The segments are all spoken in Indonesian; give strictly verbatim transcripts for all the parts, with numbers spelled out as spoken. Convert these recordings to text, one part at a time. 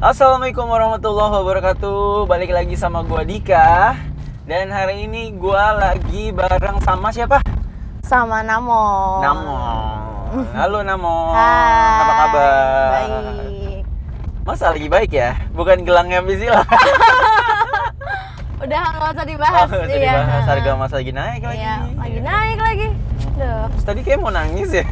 Assalamualaikum warahmatullahi wabarakatuh. Balik lagi sama gua Dika. Dan hari ini gua lagi bareng sama siapa? Sama Namon. Namon. Halo Namon. Hai. Apa kabar? Baik. Masa lagi baik ya? Bukan gelangnya Bisila. Udah nggak usah dibahas. Oh, jadi iya. bahas harga mas lagi naik lagi. Iya, lagi naik lagi. Duh. Terus tadi kayak mau nangis ya.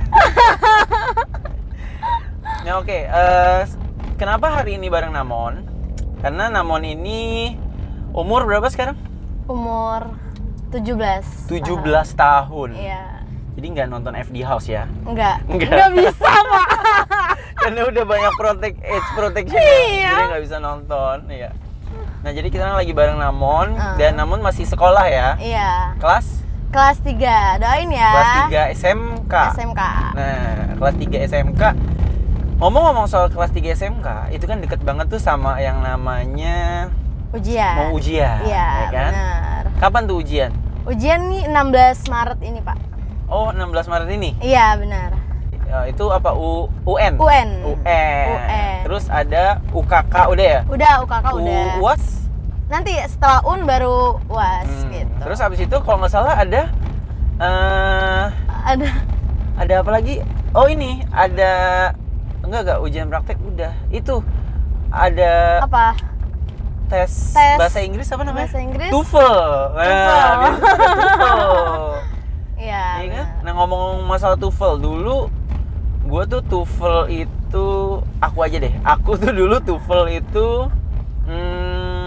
Ya oke, eh, kenapa hari ini bareng Namon? Karena Namon ini umur berapa sekarang? Umur tujuh belas. tujuh belas tahun. Iya. Jadi nggak nonton F D House ya? Enggak. Enggak. Enggak bisa, Pak. Karena udah banyak protect age protection. Iya. Jadi nggak bisa nonton. Iya. Nah jadi kita lagi bareng Namon Uh. dan Namon masih sekolah ya? Iya. Kelas? Kelas tiga. Doain ya. Kelas tiga S M K. S M K. Nah, kelas tiga S M K. Ngomong-ngomong soal kelas tiga S M K, itu kan deket banget tuh sama yang namanya Ujian. mau ujian, Iya, ya kan? benar. Kapan tuh ujian? Ujian nih enam belas Maret ini, Pak. Oh, enam belas Maret ini. Iya, benar. Ya, itu apa? U UN. UN. UN. U N. Terus ada U K K udah ya? Udah, U K K udah. U A S? Nanti setelah U N baru U A S Hmm. gitu. Terus habis itu kalau nggak salah ada eh ada ada apa lagi? Oh ini ada enggak enggak ujian praktek udah. Itu ada apa? tes, Tes bahasa Inggris apa namanya? bahasa Inggris? TOEFL. Nah, TOEFL. biasanya ada TOEFL. Iya. Iya kan? benar. Nah ngomong masalah TOEFL dulu, gue tuh TOEFL itu aku aja deh. Aku tuh dulu TOEFL itu hmm,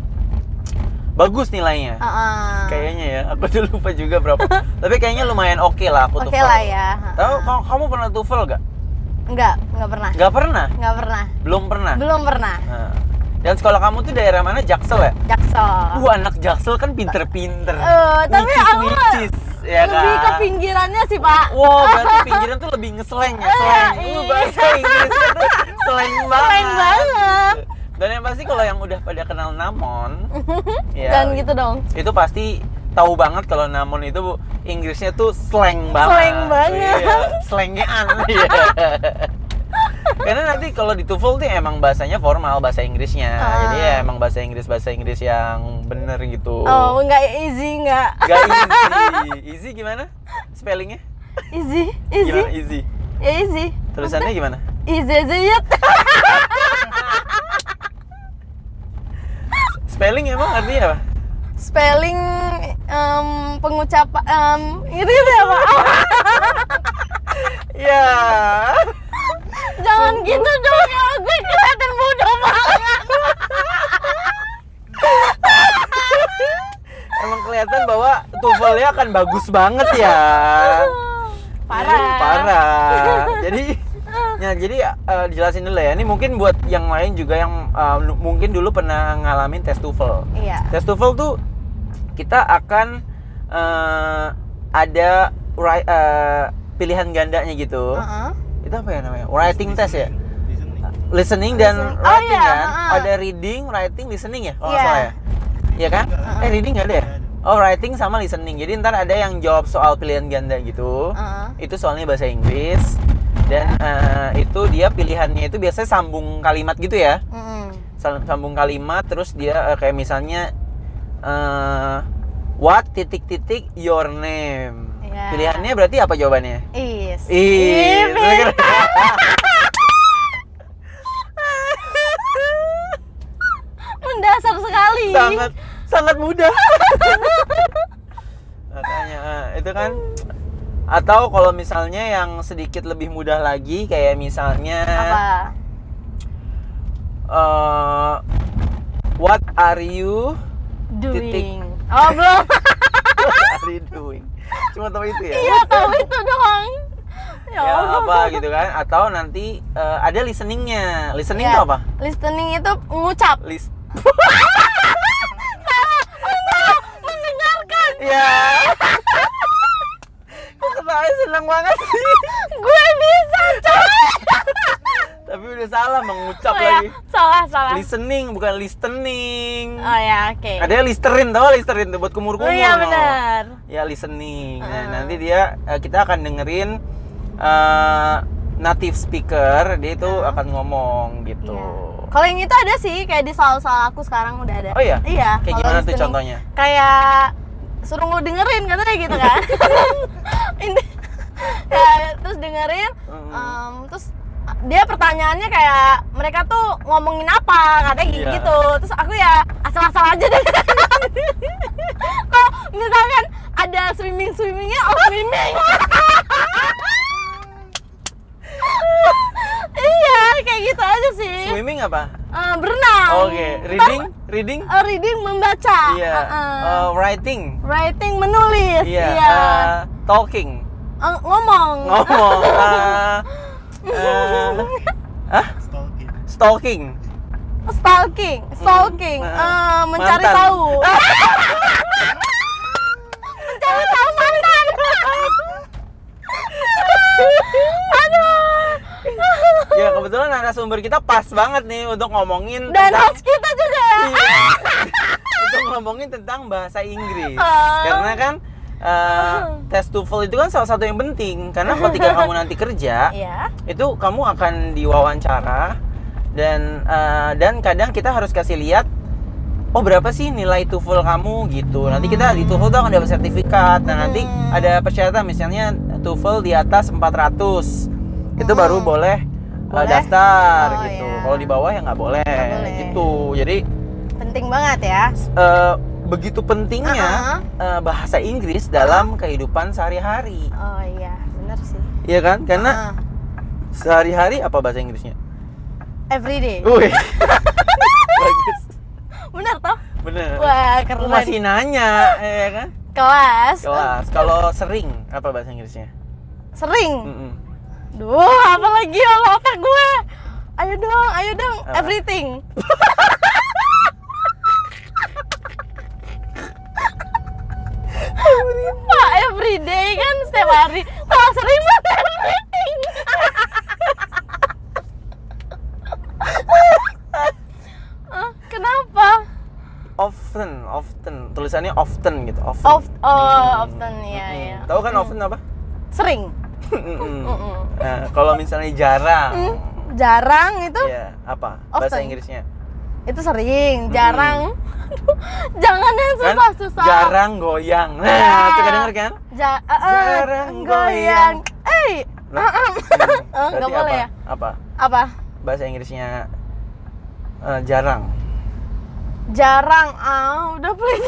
bagus nilainya. Uh-uh. Kayaknya ya. Aku tuh lupa juga berapa. Tapi kayaknya lumayan oke okay lah aku Oke TOEFL. lah ya. Tahu kamu, kamu pernah TOEFL gak? Enggak, enggak pernah. Gak pernah? Enggak pernah. Belum pernah. Belum pernah. Nah. Dan sekolah kamu tuh daerah mana? Jaksel ya? Jaksel. Wah, anak Jaksel kan pinter-pinter. Eh, tapi Wicis, aku wicis, ya lebih kan? ke pinggirannya sih, Pak. Wow, berarti pinggiran tuh lebih ngeseleng ya, slang. iya. Uh, bahasa Inggrisnya tuh slang banget. Slang banget. Dan yang pasti kalau yang udah pada kenal Namon, ya, Dan gitu dong. itu pasti tahu banget kalau Namon itu Inggrisnya tuh slang banget. Slang banget. Iya, slangean. Iya. Karena nanti kalau di TOEFL tuh emang bahasanya formal, bahasa Inggrisnya. Ah. Jadi ya emang bahasa Inggris bahasa Inggris yang bener gitu. Oh, enggak easy enggak. Gak easy. Easy gimana? Spellingnya? Easy, easy. Gimana easy? Ya easy. Tulisannya gimana? Easy aja ya. Spelling emang artinya apa? Spelling em, pengucapan em, gitu-gitu ya, Pak. Ya. Jangan gitu dong ya, gue kelihatan bodoh banget. Emang kelihatan bahwa TOEFL-nya akan bagus banget ya. Parah. Hmm, parah. Jadi ya jadi uh, dijelasin dulu ya. Ini mungkin buat yang lain juga yang uh, nu- mungkin dulu pernah ngalamin tes TOEFL. Iya. Tes TOEFL tuh kita akan uh, ada ri- uh, pilihan gandanya gitu. Uh-uh. Itu apa ya namanya? Writing test ya? Listening dan Listening. Oh, writing iya, kan? uh-uh. Ada reading, writing, listening ya? Oh, Iya. salah ya? Iya kan? Eh, reading nggak ada ya? Oh, writing sama listening. Jadi ntar ada yang jawab soal pilihan ganda gitu. Uh-uh. Itu soalnya bahasa Inggris. Dan uh, itu dia pilihannya itu biasanya sambung kalimat gitu ya. Mm-mm. Sal- Sambung kalimat, terus dia uh, kayak misalnya uh, what titik-titik your name. Iya. Pilihannya berarti apa jawabannya? Is. Ih, Ih, mendasar sekali. sangat sangat mudah. Makanya eh, itu kan. Atau kalau misalnya yang sedikit lebih mudah lagi kayak misalnya Apa? eh, what are you Doing. Oh, belum. what are you doing? Cuma tahu itu ya. Iya, tahu itu doang. Ya, Ya Allah. apa gitu kan? Atau nanti eh, ada listeningnya. Listening Iya. itu apa? Listening itu ngucap. List. Mendengarkan. Ya. Kok ketawanya seneng banget sih? Gue bisa, coy. Tapi udah salah mengucap Oh, ya. lagi. Salah, salah. Listening bukan listening. Oh ya, oke. Ada listerin tau, listerin tuh buat kumur-kumur. Oh iya, no. benar. Ya listening. Nah, Uh. nanti dia eh, kita akan dengerin eh, native speaker, dia itu Uh. akan ngomong gitu. Iya. Kalau yang itu ada sih, kayak di sal-sal aku sekarang udah ada. Oh iya? Iya. Kayak kalau gimana tuh listening. contohnya? Kayak suruh lu dengerin katanya gitu kan. Ini ya, terus dengerin, Hmm. em, terus dia pertanyaannya kayak mereka tuh ngomongin apa katanya gitu, Iya. gitu. Terus aku ya asal-asal aja deh. Kok misalkan ada swimming swimmingnya, oh swimming. Iya kayak gitu aja sih. Swimming apa? Eh, berenang. Oke, reading, reading. Eh, reading membaca. Iya. Eh, Uh, writing. writing menulis. Iya. Iya. Uh, talking. Eh, ngomong. Ngomong. Uh, uh, ah? Stalking. Stalking. Stalking, stalking, Hmm. Eh, mencari Mantan. tahu. Mencari tahu mantan. Aduh. Ya kebetulan narasumber kita pas banget nih untuk ngomongin Dan tentang host kita juga ya. Iya. untuk ngomongin tentang bahasa Inggris. Ah. Karena kan uh, tes TOEFL itu kan salah satu yang penting karena ketika kamu nanti kerja Iya. itu kamu akan diwawancara dan uh, dan kadang kita harus kasih lihat oh berapa sih nilai TOEFL kamu gitu. Nanti kita di TOEFL tuh akan dapat sertifikat. Nah, nanti Hmm. ada persyaratan misalnya TOEFL di atas empat ratus. Itu Hmm. baru boleh, uh, Boleh? daftar Oh, gitu. iya. Kalau di bawah ya nggak boleh, Nggak boleh. gitu. Jadi Penting banget ya. uh, begitu pentingnya Uh-uh. uh, bahasa Inggris dalam kehidupan sehari-hari. Oh iya, benar sih. Iya kan? Karena Ah, sehari-hari apa bahasa Inggrisnya? everyday. Wih. Bagus. Benar toh? Bener. Wah, Aku keren. masih nanya, ya kan? Kelas. Kelas. Kalau sering apa bahasa Inggrisnya? Sering. Mm-mm. Duh, apa lagi ya lo otak gue? Ayo dong, ayo dong. Apa? Everything. Pak, everyday kan setiap hari. Kalau sering mah everything. Ah, kenapa? Often, often. Tulisannya often gitu. Often. Of, oh, often ya Mm-mm. ya. Tahu kan often apa? Sering. Mm-mm. Mm-mm. Nah, kalau misalnya jarang, Hmm, jarang itu ya apa? Bahasa Often. Inggrisnya? itu sering, jarang. Aduh, jangan yang Kan susah-susah. jarang goyang. Nah, Ya. suka denger kan? Ja- uh, uh, Jarang goyang. Eh, Lah, uh, uh. hmm, Oh, nggak berarti boleh apa? ya? Apa? Apa? Bahasa Inggrisnya eh, jarang. Jarang. Ah, udah please.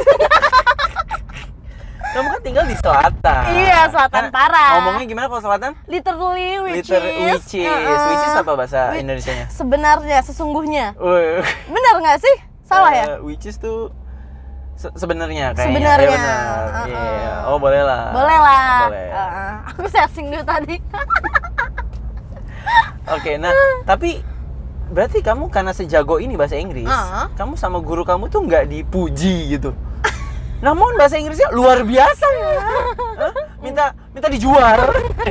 Kamu kan tinggal di selatan. Iya, selatan Kan parah. Ngomongnya gimana kalau selatan? Literally which Liter is. which is. uh-uh. Which is apa bahasa Which- Indonesianya? Sebenarnya, sesungguhnya. Wih. Benar nggak sih? Salah ya? Eh, which is tuh se- sebenarnya kayaknya. Sebenarnya, Iya benar. uh-uh. Iya. Oh, boleh lah. Boleh lah. Boleh. Uh-uh. Aku searching dulu tadi. Oke, nah, tapi berarti kamu karena sejago ini bahasa Inggris, Uh-uh. kamu sama guru kamu tuh nggak dipuji gitu. Namun bahasa Inggrisnya luar biasa ya. Hah? Minta minta dijual.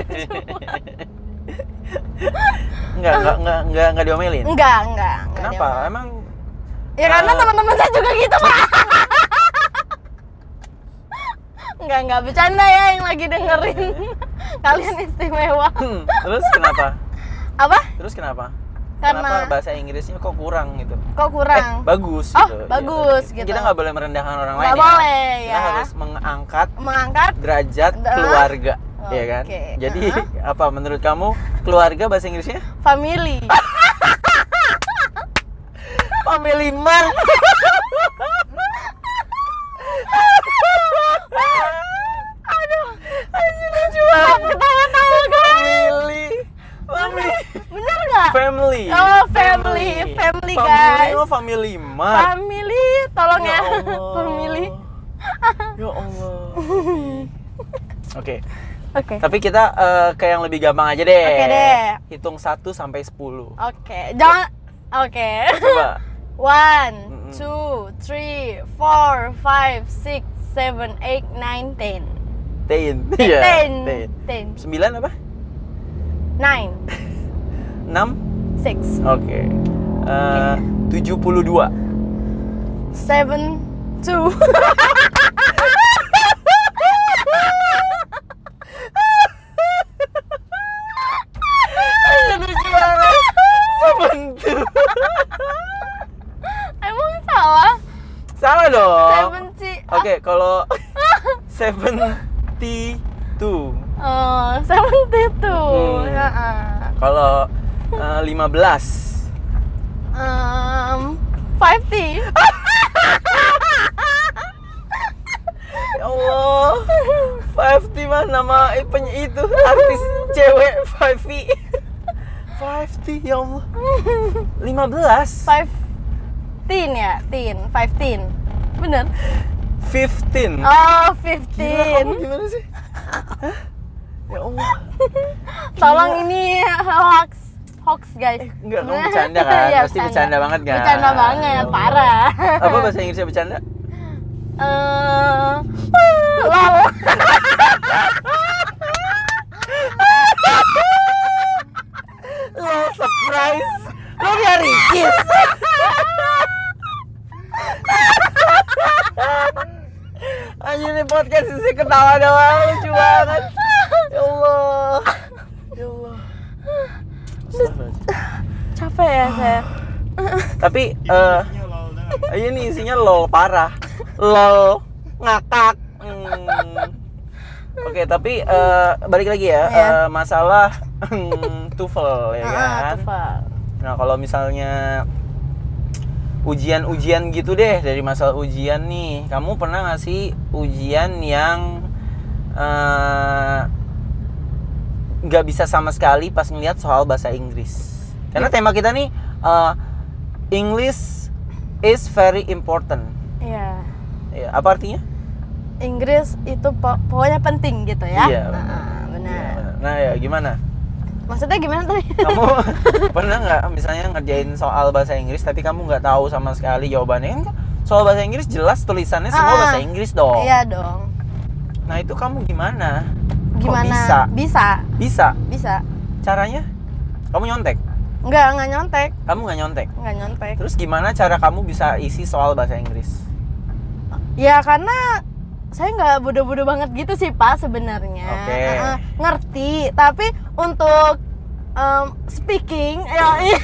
Enggak, enggak, enggak, enggak, enggak diomelin. Enggak, enggak. enggak Kenapa? dia- Emang Ya karena Uh, teman-teman saya juga gitu, Pak. Enggak, enggak bercanda ya yang lagi dengerin. Kalian istimewa. hmm, terus kenapa? Apa? Terus kenapa? Karena- Kenapa bahasa Inggrisnya kok kurang gitu? Kok kurang? Eh, bagus Oh, gitu. bagus Iya. gitu. Kita nggak boleh merendahkan orang Nggak lain boleh, Kita ya. harus mengangkat Mengangkat derajat Da- keluarga, ya kan? Oke. Jadi Uh-huh. apa menurut kamu keluarga bahasa Inggrisnya? family. Family man. Aduh, Anjir lucu banget. ketawa-tawa guys. Family. Family. Bener nggak? Family. Oh, family. Family, guys. Oh, family man. Family, tolong ya. Allah. Family. Ya Allah. Oke. Oke. Tapi kita eh, ke yang lebih gampang aja deh. Oke deh. Hitung satu sampai sepuluh. Oke. Jangan. Oke. Coba. One, Mm-mm. two, three, four, five, six, seven, eight, nine, ten. Ten. Eh, Iya, ten. ten. Ten. Sembilan apa? Nine. Enam? Six. Oke. Eh, tujuh puluh dua. Seven. Two. Lucu banget. Sebentar. Salah dong. Seventy. Oke, kalau seventy two. Oh, seventy two. Hmm. Ya. ah. Kalau uh, lima belas. Um, fifty. Ya Allah. fifty mah nama penyanyi itu artis cewek fifty. fifty ya Allah. lima belas. Fifteen ya, teen, fifteen. Bener. fifteen. Oh, Gila, fifteen. kamu gimana sih? Hah? Ya Allah. Tolong Gila. ini hoax, hoax guys. Eh, enggak, kamu bercanda kan? Iya, Pasti bercanda banget kan? Bercanda banget, Ya Allah. parah. Apa bahasa Inggrisnya bercanda? Eh, lol. Lo surprise. Lo nyari kiss. Anjir nih podcast sih ketawa doang, lucu banget. Ya Allah. Ya Allah. Capek ya saya. Tapi eh ini isinya lol parah. Lol ngakak. Hmm. Oke, tapi eh, balik lagi ya, Iya. eh, masalah hmm, TOEFL ya Ah, kan. TOEFL. Nah, kalau misalnya ujian-ujian gitu deh, dari masalah ujian nih, kamu pernah nggak sih ujian yang eh, nggak bisa sama sekali pas ngeliat soal bahasa Inggris? Karena tema kita nih eh, English is very important. Iya. Ya, apa artinya? Inggris itu po- pokoknya penting gitu ya. Iya, Nah, Iya, benar. benar. Nah, ya gimana? Maksudnya gimana tadi? Kamu pernah nggak misalnya ngerjain soal bahasa Inggris tapi kamu nggak tahu sama sekali jawabannya? Kan soal bahasa Inggris jelas tulisannya semua Ah, bahasa Inggris dong. Iya dong. Nah, itu kamu gimana? Kok Gimana? bisa? Bisa. Bisa. Bisa. Caranya? Kamu nyontek? Enggak, enggak nyontek. Kamu nggak nyontek? Enggak nyontek. Terus gimana cara kamu bisa isi soal bahasa Inggris? Ya karena saya nggak bodoh-bodoh banget gitu sih Pak sebenarnya. Oke. Heeh, ngerti, tapi untuk em, speaking ya iya.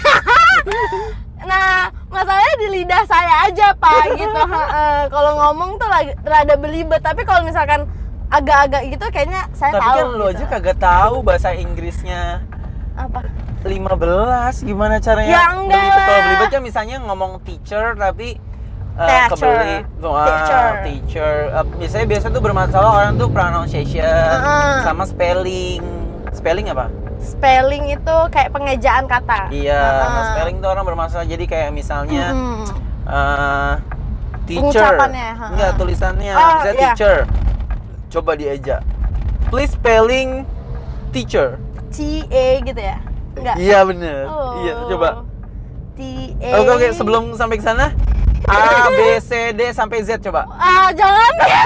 Nah, masalahnya di lidah saya aja Pak gitu. Heeh, kalau ngomong tuh lagi rada belibet, tapi kalau misalkan agak-agak gitu kayaknya saya Tapi tahu. kan lu gitu. aja kagak tahu bahasa Inggrisnya. Apa? lima belas gimana caranya? Ya enggak Belibet. Kalau lah. belibet kan misalnya ngomong teacher tapi uh, Teacher. kebelit. Wah, Teacher. teacher. Uh, biasanya biasa tuh bermasalah orang tuh pronunciation Uh-uh. sama spelling. Spelling apa? Spelling itu kayak pengejaan kata. Iya, Heeh. nah, spelling tuh orang bermasalah. Jadi kayak misalnya Mm-mm. uh, teacher. Pengucapannya, ha-ha. Enggak, tulisannya. Oh, Misalnya iya. teacher. Coba dieja. Please spelling teacher. T A gitu ya? Enggak. Iya bener. Oh. Iya, coba. T A. Oke, oke, sebelum sampai ke sana A, B, C, D sampai Z coba. Ah, jangan ya.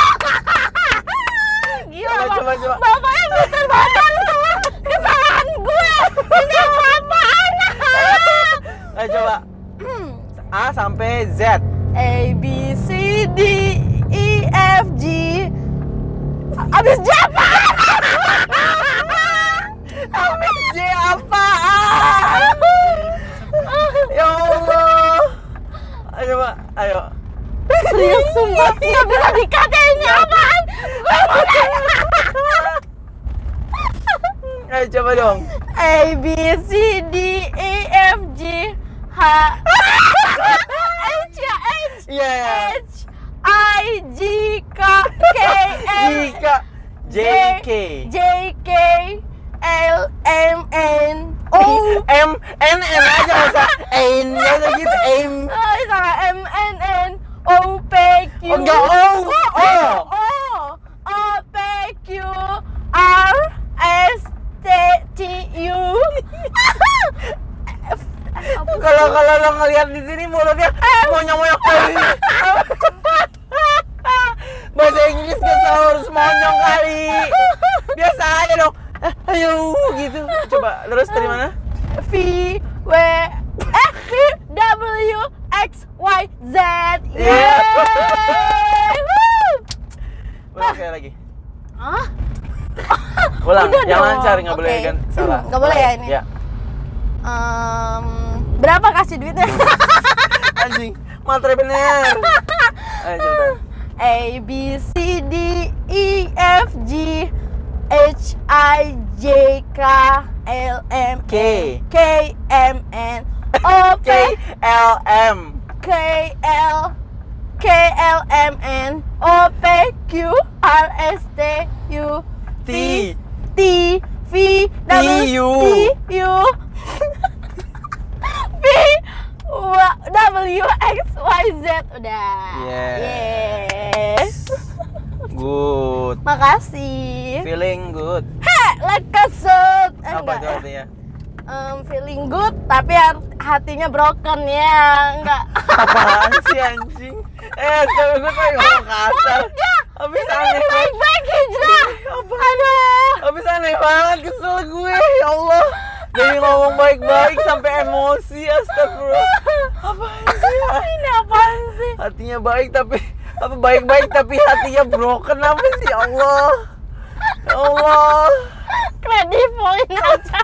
Gila, Coba, Bang. coba, coba. Bapaknya pintar banget sama kesalahan gue. Ini apaan? Ayo coba. A sampai Z. A, B, C, D, E, F, G. Abis J apaan? Abis J apaan? Ya Allah. Ayo coba, ayo. Serius sumpah, nggak bisa dikata ini apaan? Gue mau nanya. Ayo coba dong. A, B, C, D, E, F, G, H, H ya, H, Iya. H, I, J, K, K, L, Jika J K J, K, L, M, N, O. M N N aja masa N aja gitu M. Oh, salah, M, N, N, O, P, Q. Oh, enggak, O. O. O, O, P, Q, R, S, T, T, U. Kalau kalau lo ngelihat di sini mulutnya monyong-monyong. Bahasa Inggris kan harus monyong kali. Biasa aja dong. Eh, ayo gitu. Coba terus dari mana? V, W, eh, V, W, X, Y, Z. Iya. Yeay! Woo! Ulang sekali lagi. Hah? Ulang, Udah yang dong. lancar, nggak boleh Oke. kan salah. Nggak boleh ya ini? Ya. Em, berapa kasih duitnya? Anjing, matre bener. Ayo cepetan. A B C D E F G H I J K L M K. K M N O P K L M. K L K L M N O P Q R S T U T. T V W T U. V W X Y Z udah. Yes. Yes. Good. Makasih. Feeling good. Heh, like a suit. Eh, Apa enggak itu ya. artinya? Um, feeling good tapi har- hatinya broken ya, enggak. Apaan sih anjing? Eh, tapi gue tuh ngomong kasar. Habis aneh banget. Baik-baik hijrah. Apa? Aduh. Habis aneh banget, kesel gue. Ya Allah. Dari ngomong baik-baik sampai emosi, astagfirullah. Apaan sih? Ini apaan sih? Hatinya baik tapi apa baik-baik tapi hatinya broken apa sih? Ya Allah. Ya Allah. Credit point aja.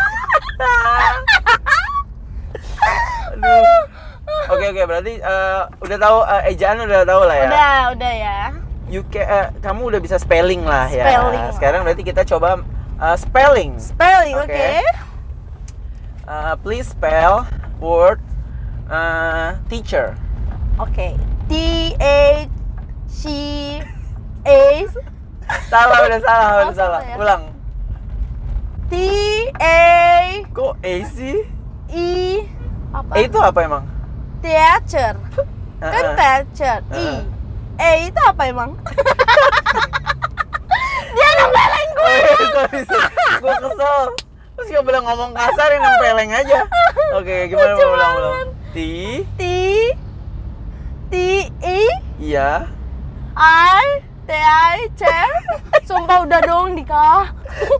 Aduh. Oke oke berarti eh, udah tahu eh, ejaan udah tahu lah ya. Udah, udah ya. You ca- eh, kamu udah bisa spelling lah ya. Spelling. Sekarang berarti kita coba eh, spelling. Spelling, oke. Oke. Eh, please spell word eh, teacher. Oke. T H C A Salah udah salah udah Oh, salah. salah ya? Ulang. T A Kok A sih? E apa? A itu apa emang? Teacher. Kan Uh-uh. teacher. E. Uh-uh. E itu apa emang? Dia nempelin gue. Oh, iya, sorry, sorry. Gue kesel. Terus gak boleh ngomong kasar yang nempeleng aja. Oke, gimana Lucu mau ulang-ulang? banget. T. T T E Iya. I T I C. Sumpah udah dong nikah.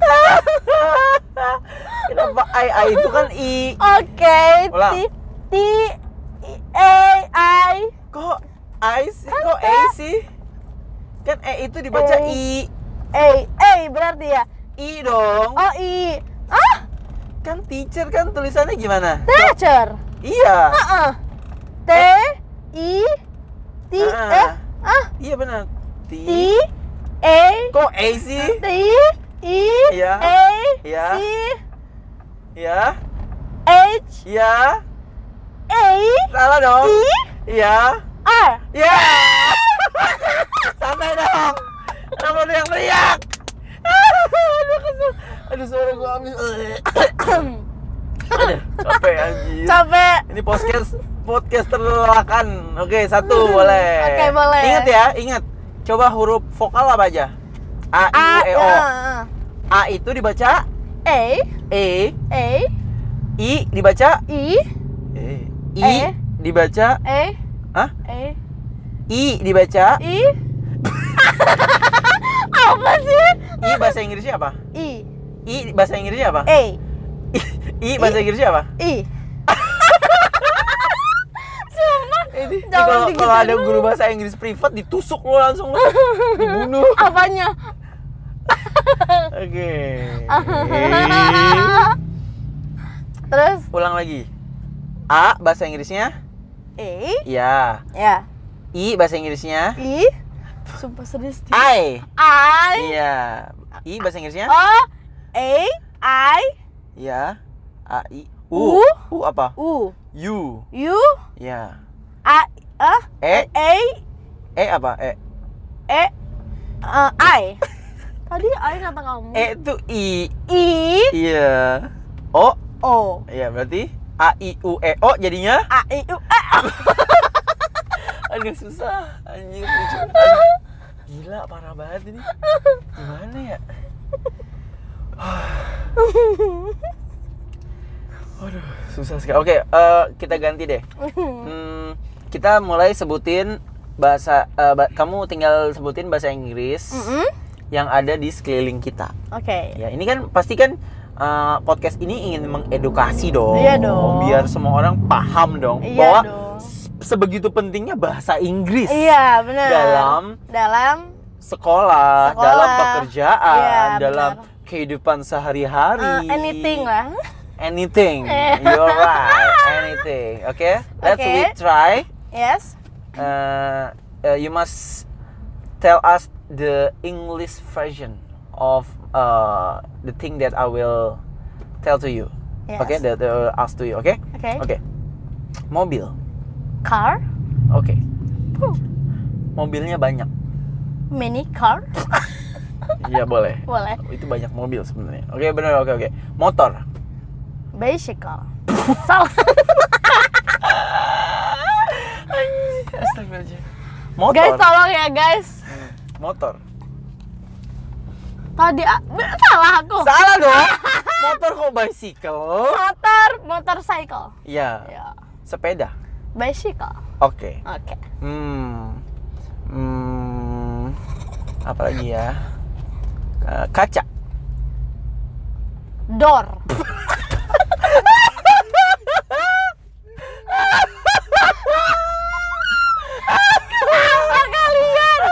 Kenapa I I itu kan I? Oke. Ulang. T T A I. Kok I sih? Kok A sih? Kan E itu dibaca A. I. A A berarti ya. I dong. Oh I. Ah, Kan teacher kan tulisannya gimana? teacher. Iya. Heeh. T I T Ah. eh ah Iya benar. T. T A Kok A sih? T I Iya. A Iya. C Iya. H Iya. A Salah dong. I Iya. R. Ya. Santai dong. Kenapa ada yang teriak? Aduh kesel. Aduh suara gua habis. Aduh, capek anjir. Capek. Ini podcast podcast terlelakan. Oke, satu boleh. Oke, boleh. Ingat ya, ingat. Coba huruf vokal apa aja? A, I, U, E, O. ah, A itu dibaca A E, A I dibaca I E. I E. dibaca A Hah? A I dibaca I apa sih? I bahasa Inggrisnya apa? I I bahasa Inggrisnya apa? A I bahasa Inggrisnya apa? I. Sumpah. Ini, ini Jangan kalau digituin kalau ada dulu. guru bahasa Inggris privat ditusuk lo langsung lo. Dibunuh. Apanya? Oke. Terus Ulang lagi. A bahasa Inggrisnya? A Ya. ya I bahasa Inggrisnya? I sumpah serius dia. I. I Iya. I bahasa Inggrisnya? O A I Ya. A I U. U. U apa? U U. U Ya. A ah E. A E apa? E. E uh, I tadi I kata kamu E itu I. I Iya. O. O Iya, berarti A I U E O jadinya? A I U E Aduh susah. Anjir. lucu. Aduh. Gila, parah banget ini. Gimana ya? Waduh, susah sekali. Oke, eh, kita ganti deh. Hmm, kita mulai sebutin bahasa. eh, ba- kamu tinggal sebutin bahasa Inggris Mm-mm. yang ada di sekeliling kita. Oke Ya, ini kan pasti kan eh, podcast ini ingin mengedukasi dong. Iya dong. Biar semua orang paham dong Iya bahwa dong. s- sebegitu pentingnya bahasa Inggris Iya benar dalam dalam sekolah, Sekolah. dalam pekerjaan, Iya, dalam benar. kehidupan sehari-hari. uh, anything lah Anything. You're right. Anything. Okay? Let's Okay. we try. yes Uh, uh, you must tell us the English version of uh, the thing that I will tell to you. Yes. Okay, that I will ask to you. Okay? Okay. Okay. Mobil. Car. Oke. Huh. Mobilnya banyak. Mini car. Iya boleh. Boleh. Itu banyak mobil sebenarnya. Oke benar. Oke oke. Motor. Bicycle. Salah. Astagfirullahaladzim. Motor. Guys tolong ya guys. Hmm, Motor. Tadi ah, salah aku. Salah dong. Motor kok bicycle? Motor, motorcycle. Iya. Ya. Sepeda. Bicycle. Oke. Oke. Hmm. Hmm. Apa lagi ya? Eh, kaca. Door. Kenapa kalian?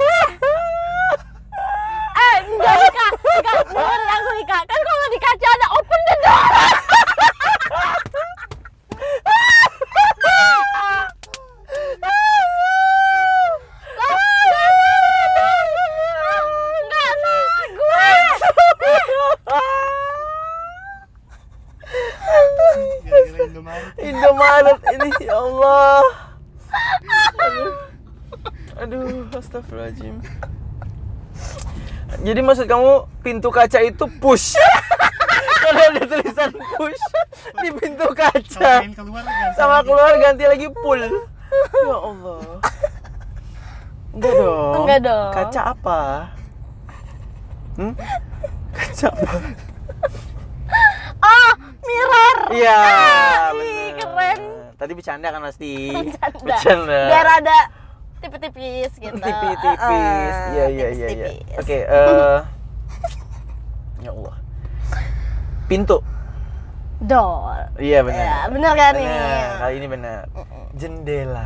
Eh, enggak Ika, Ika, dengerin aku Ika. Kan kalau di kaca ada open the door. Enggak salah gue. Gara-gara Indomaret. Indomaret ini ya Allah. Aduh. Aduh, astagfirullahaladzim. Jadi maksud kamu pintu kaca itu push? Karena ada tulisan push di pintu kaca. Selain keluar ganti Sama lagi. keluar ganti lagi pull. Ya Allah. Enggak dong. Enggak dong. Kaca apa? Hmm? Kaca apa? Oh, mirror. Iya, Ih, bener. keren. Tadi bercanda kan pasti. Bercanda. Bercanda. Biar ada tipis-tipis gitu. Tipis-tipis. Uh-uh, Iya, iya, iya, iya. tipis-tipis. Oke, eh ya Allah. Pintu. Door. Iya benar. Ya, benar kan nih? Benar. Kali ini benar. Jendela.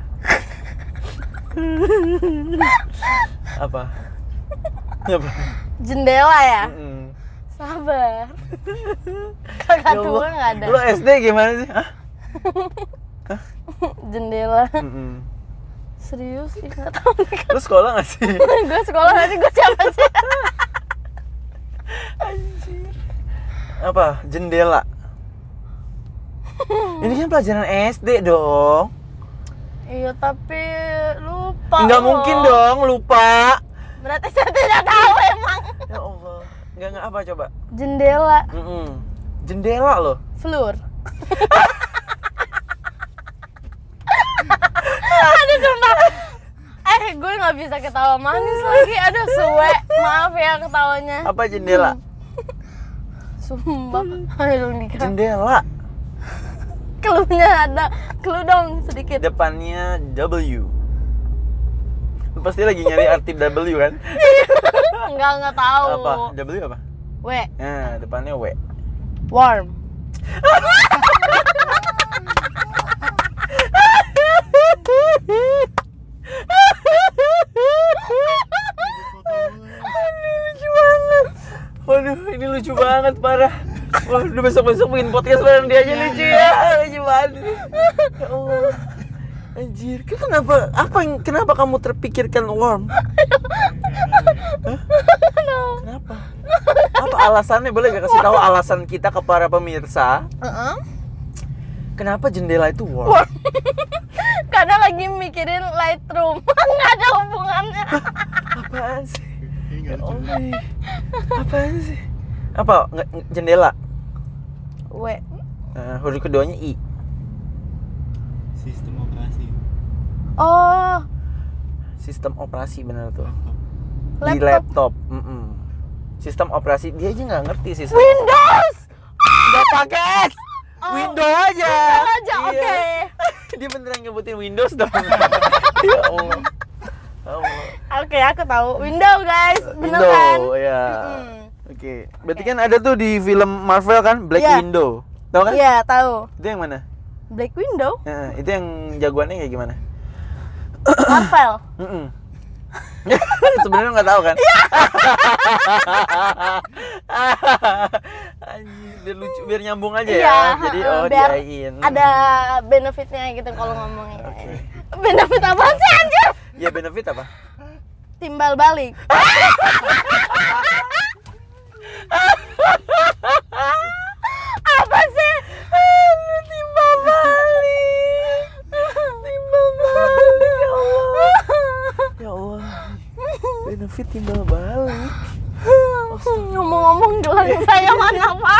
Apa? Apa? Jendela ya? Mm-mm. Sabar. Kakak Ya tua Allah. nggak ada. Lu S D gimana sih? Hah? Jendela. Mm-mm. Serius? Ih, nggak tahu nih. Lu sekolah gak sih? Gue sekolah nanti gue siapa sih? Anjir. Apa? Jendela. Ini kan pelajaran S D dong. Iya tapi lupa. Nggak loh. mungkin dong lupa. Berarti saya tidak tahu emang. Ya Allah. Nggak nggak apa coba? Jendela. Mm-mm. Jendela loh. Floor. Aduh sumpah. Eh gue nggak bisa ketawa manis lagi. Aduh suwe. Maaf ya ketawanya. Apa jendela? Sumpah. Ayo dong Dika. Jendela. Cluenya ada. Clue dong sedikit. Depannya W. Lu pasti lagi nyari arti W kan? Enggak enggak tahu. Apa? W apa? W. Nah, depannya W. Warm. Lucu banget. Waduh, ini lucu banget parah. Waduh, besok-besok bikin podcast bareng dia aja lucu ya. Lucu banget. Ya Allah. Anjir, kenapa apa yang kenapa kamu terpikirkan warm? Hah? Kenapa? Apa alasannya? Boleh gak kasih tahu alasan kita ke para pemirsa? Heeh. Kenapa jendela itu warm? Warm. Karena lagi mikirin Lightroom. Enggak ada hubungannya. Apaan sih? Ini Ya nggak lucu. Allah. Apaan sih? Apa? Nge- nge- jendela. W. Nah, huruf keduanya I. Sistem operasi. Oh, Sistem operasi benar tuh. Laptop. Di laptop. laptop. Mm-mm. Sistem operasi dia aja nggak ngerti sistem. Windows. Nggak pakai. Oh, Windows aja. Windows aja, Iya. oke. Dia beneran nyebutin Windows dong. Ya Allah. Allah. Oke, aku tahu. Window, guys. Bener Window, kan? ya. Mm-mm. Oke. Berarti kan ada tuh di film Marvel kan Black Iya. Window. Tahu kan? Iya, tahu. Itu yang mana? Black Window. Nah, itu yang jagoannya kayak gimana? Marvel. Mm-mm. Sebenarnya nggak tahu kan? Anjir, biar lucu, biar nyambung aja ya. Iya, Jadi heeh, oh biar diain. ada benefitnya gitu kalau ngomongnya. Oke. Benefit apa sih anjir? Ya benefit apa? Timbal balik. Apa sih? Timbal balik. Timbal balik. Ya Allah. Ya Allah. Benefit timbal balik. Ngomong-ngomong gelang saya mana, Pak?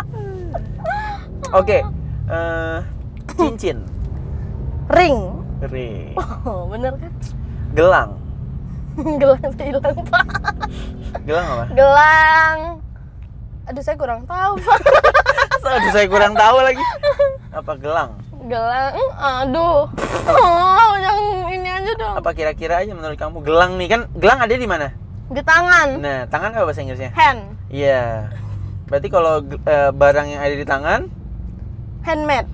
Oke. eh, cincin. Ring. Ring. Oh, bener kan? Gelang. Gelang saya hilang, Pak. Gelang apa? Gelang. Aduh, saya kurang tahu, Pak. Aduh, saya kurang tahu lagi. Apa gelang? Gelang. Aduh. Oh, yang ini aja dong. Apa kira-kira aja menurut kamu gelang nih? Kan gelang ada di mana? Di tangan. Nah, tangan apa bahasa Inggrisnya? Hand. Iya. Berarti kalau eh, barang yang ada di tangan Handmade.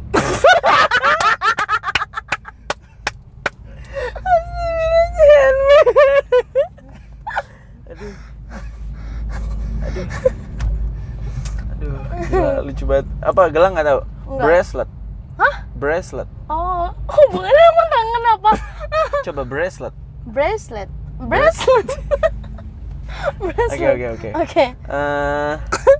Aduh. Aduh. Aduh, gila, lucu banget. Apa gelang nggak tahu? Enggak. Bracelet. Hah? Bracelet. Oh, hubungannya sama tangan apa? Coba bracelet. Bracelet. Bracelet. Bracelet. Oke, oke, oke. Oke. Eh,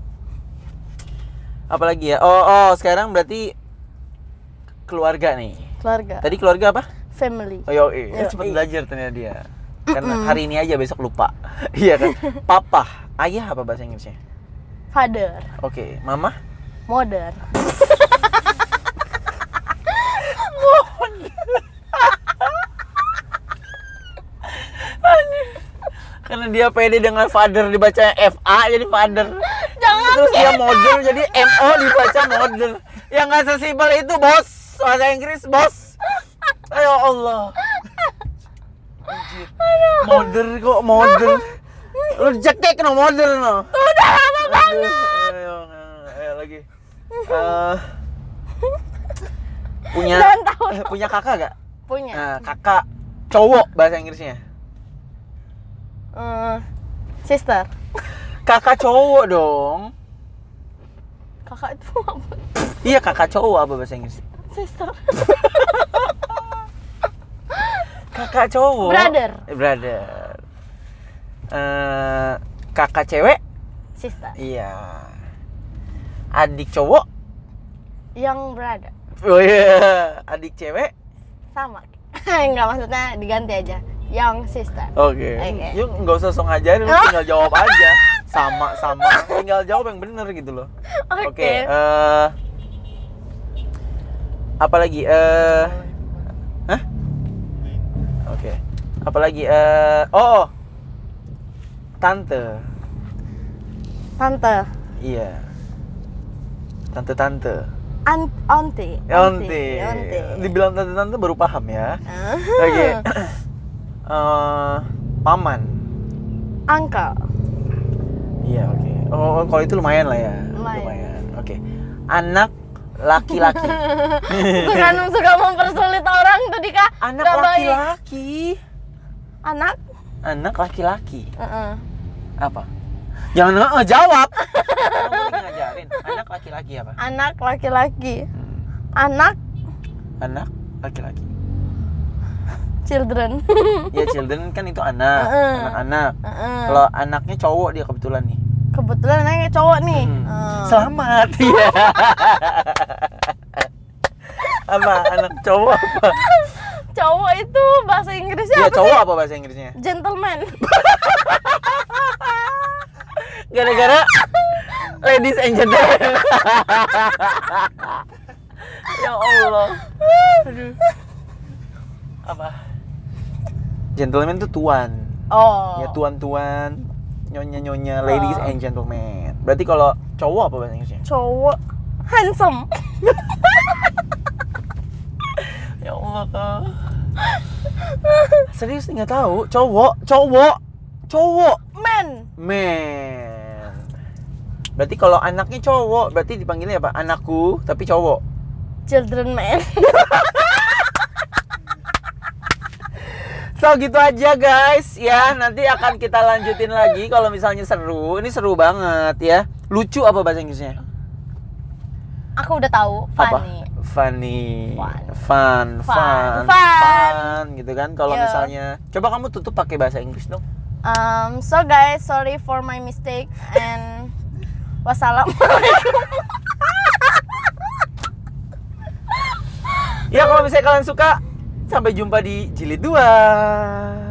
apa lagi ya? Oh, oh, sekarang berarti keluarga nih. Keluarga. Tadi keluarga apa? Family. Oh, yo, eh, Yo, cepet iya. belajar ternyata dia. Karena hari ini aja besok lupa. Iya kan? Papa, ayah apa bahasa Inggrisnya? Father. Oke, mama? Mother. Karena dia pede dengan father dibaca F A jadi father. Jangan Terus dia model jadi M O dibaca model. Yang nggak sesimpel itu, bos. Bahasa Inggris, bos. Ayo Allah. Anjir. Model kok model. Lu cekek no model no. Udah lama banget. Ayo, ayo lagi. Eh, punya Jangan tahu. eh, punya kakak gak? Punya. Nah, kakak cowok bahasa Inggrisnya. Eh, sister. Kakak cowok dong. Kakak itu apa? Iya, kakak cowok apa bahasa Inggris? Sister. Kakak cowok. Brother. Eh, brother. Eh, kakak cewek? Sister. Iya. Adik cowok? Yang brother. Oh iya. Adik cewek? Sama. Enggak, maksudnya diganti aja. Young sister. Oke. Oke. Yuk nggak usah sok ngajarin, lu tinggal jawab aja. Sama sama. Tinggal jawab yang bener gitu loh. Oke. Oke. eh, apa lagi? Eh, hah? Oke. Apa lagi? Eh, oh. Tante. Tante. Iya. Tante-tante. Aunt, auntie. Auntie. Auntie. Dibilang tante-tante baru paham ya. Ah. Oke. Eh, paman. Uncle. Iya, oke. Oh, oh, kalau itu lumayan lah ya. Lumayan. Oke. Anak laki-laki. Bukan suka mempersulit orang tuh Dika. Anak Nggak baik. laki-laki. Anak? Anak laki-laki. Heeh. Apa? Jangan eh, jawab. Kamu lagi ngajarin. Anak laki-laki apa? Anak laki-laki. Hmm. Anak Anak laki-laki. children. Ya, children kan itu anak, Heeh. anak-anak. Heeh. Kalau anaknya cowok dia kebetulan nih. Kebetulan anaknya cowok nih. Hmm. Heeh. Selamat. Iya. Apa anak cowok apa? Cowok itu bahasa Inggrisnya Iya, apa cowok sih? apa bahasa Inggrisnya? Gentleman. Gara-gara ladies and gentlemen. Ya Allah. Aduh. Apa? Gentleman itu tuan. Oh. Ya, tuan-tuan, nyonya-nyonya, ladies Oh. and gentlemen. Berarti kalau cowok apa bahasa Inggrisnya? Cowok handsome. Ya Allah, Kak. Serius nggak tahu? Cowok, cowok, cowok. Man. Man. Berarti kalau anaknya cowok, berarti dipanggilnya apa? Anakku, tapi cowok. Children man. So gitu aja guys ya, nanti akan kita lanjutin lagi kalau misalnya seru. Ini seru banget ya. Lucu apa bahasa Inggrisnya? Aku udah tahu, Apa? funny. funny, Fun. fun, Fun. fun, Fun. fun, gitu kan? Kalau Yo. misalnya, coba kamu tutup pakai bahasa Inggris dong. Um, so guys, sorry for my mistake and wassalamualaikum. Ya kalau misalnya kalian suka, sampai jumpa di jilid dua.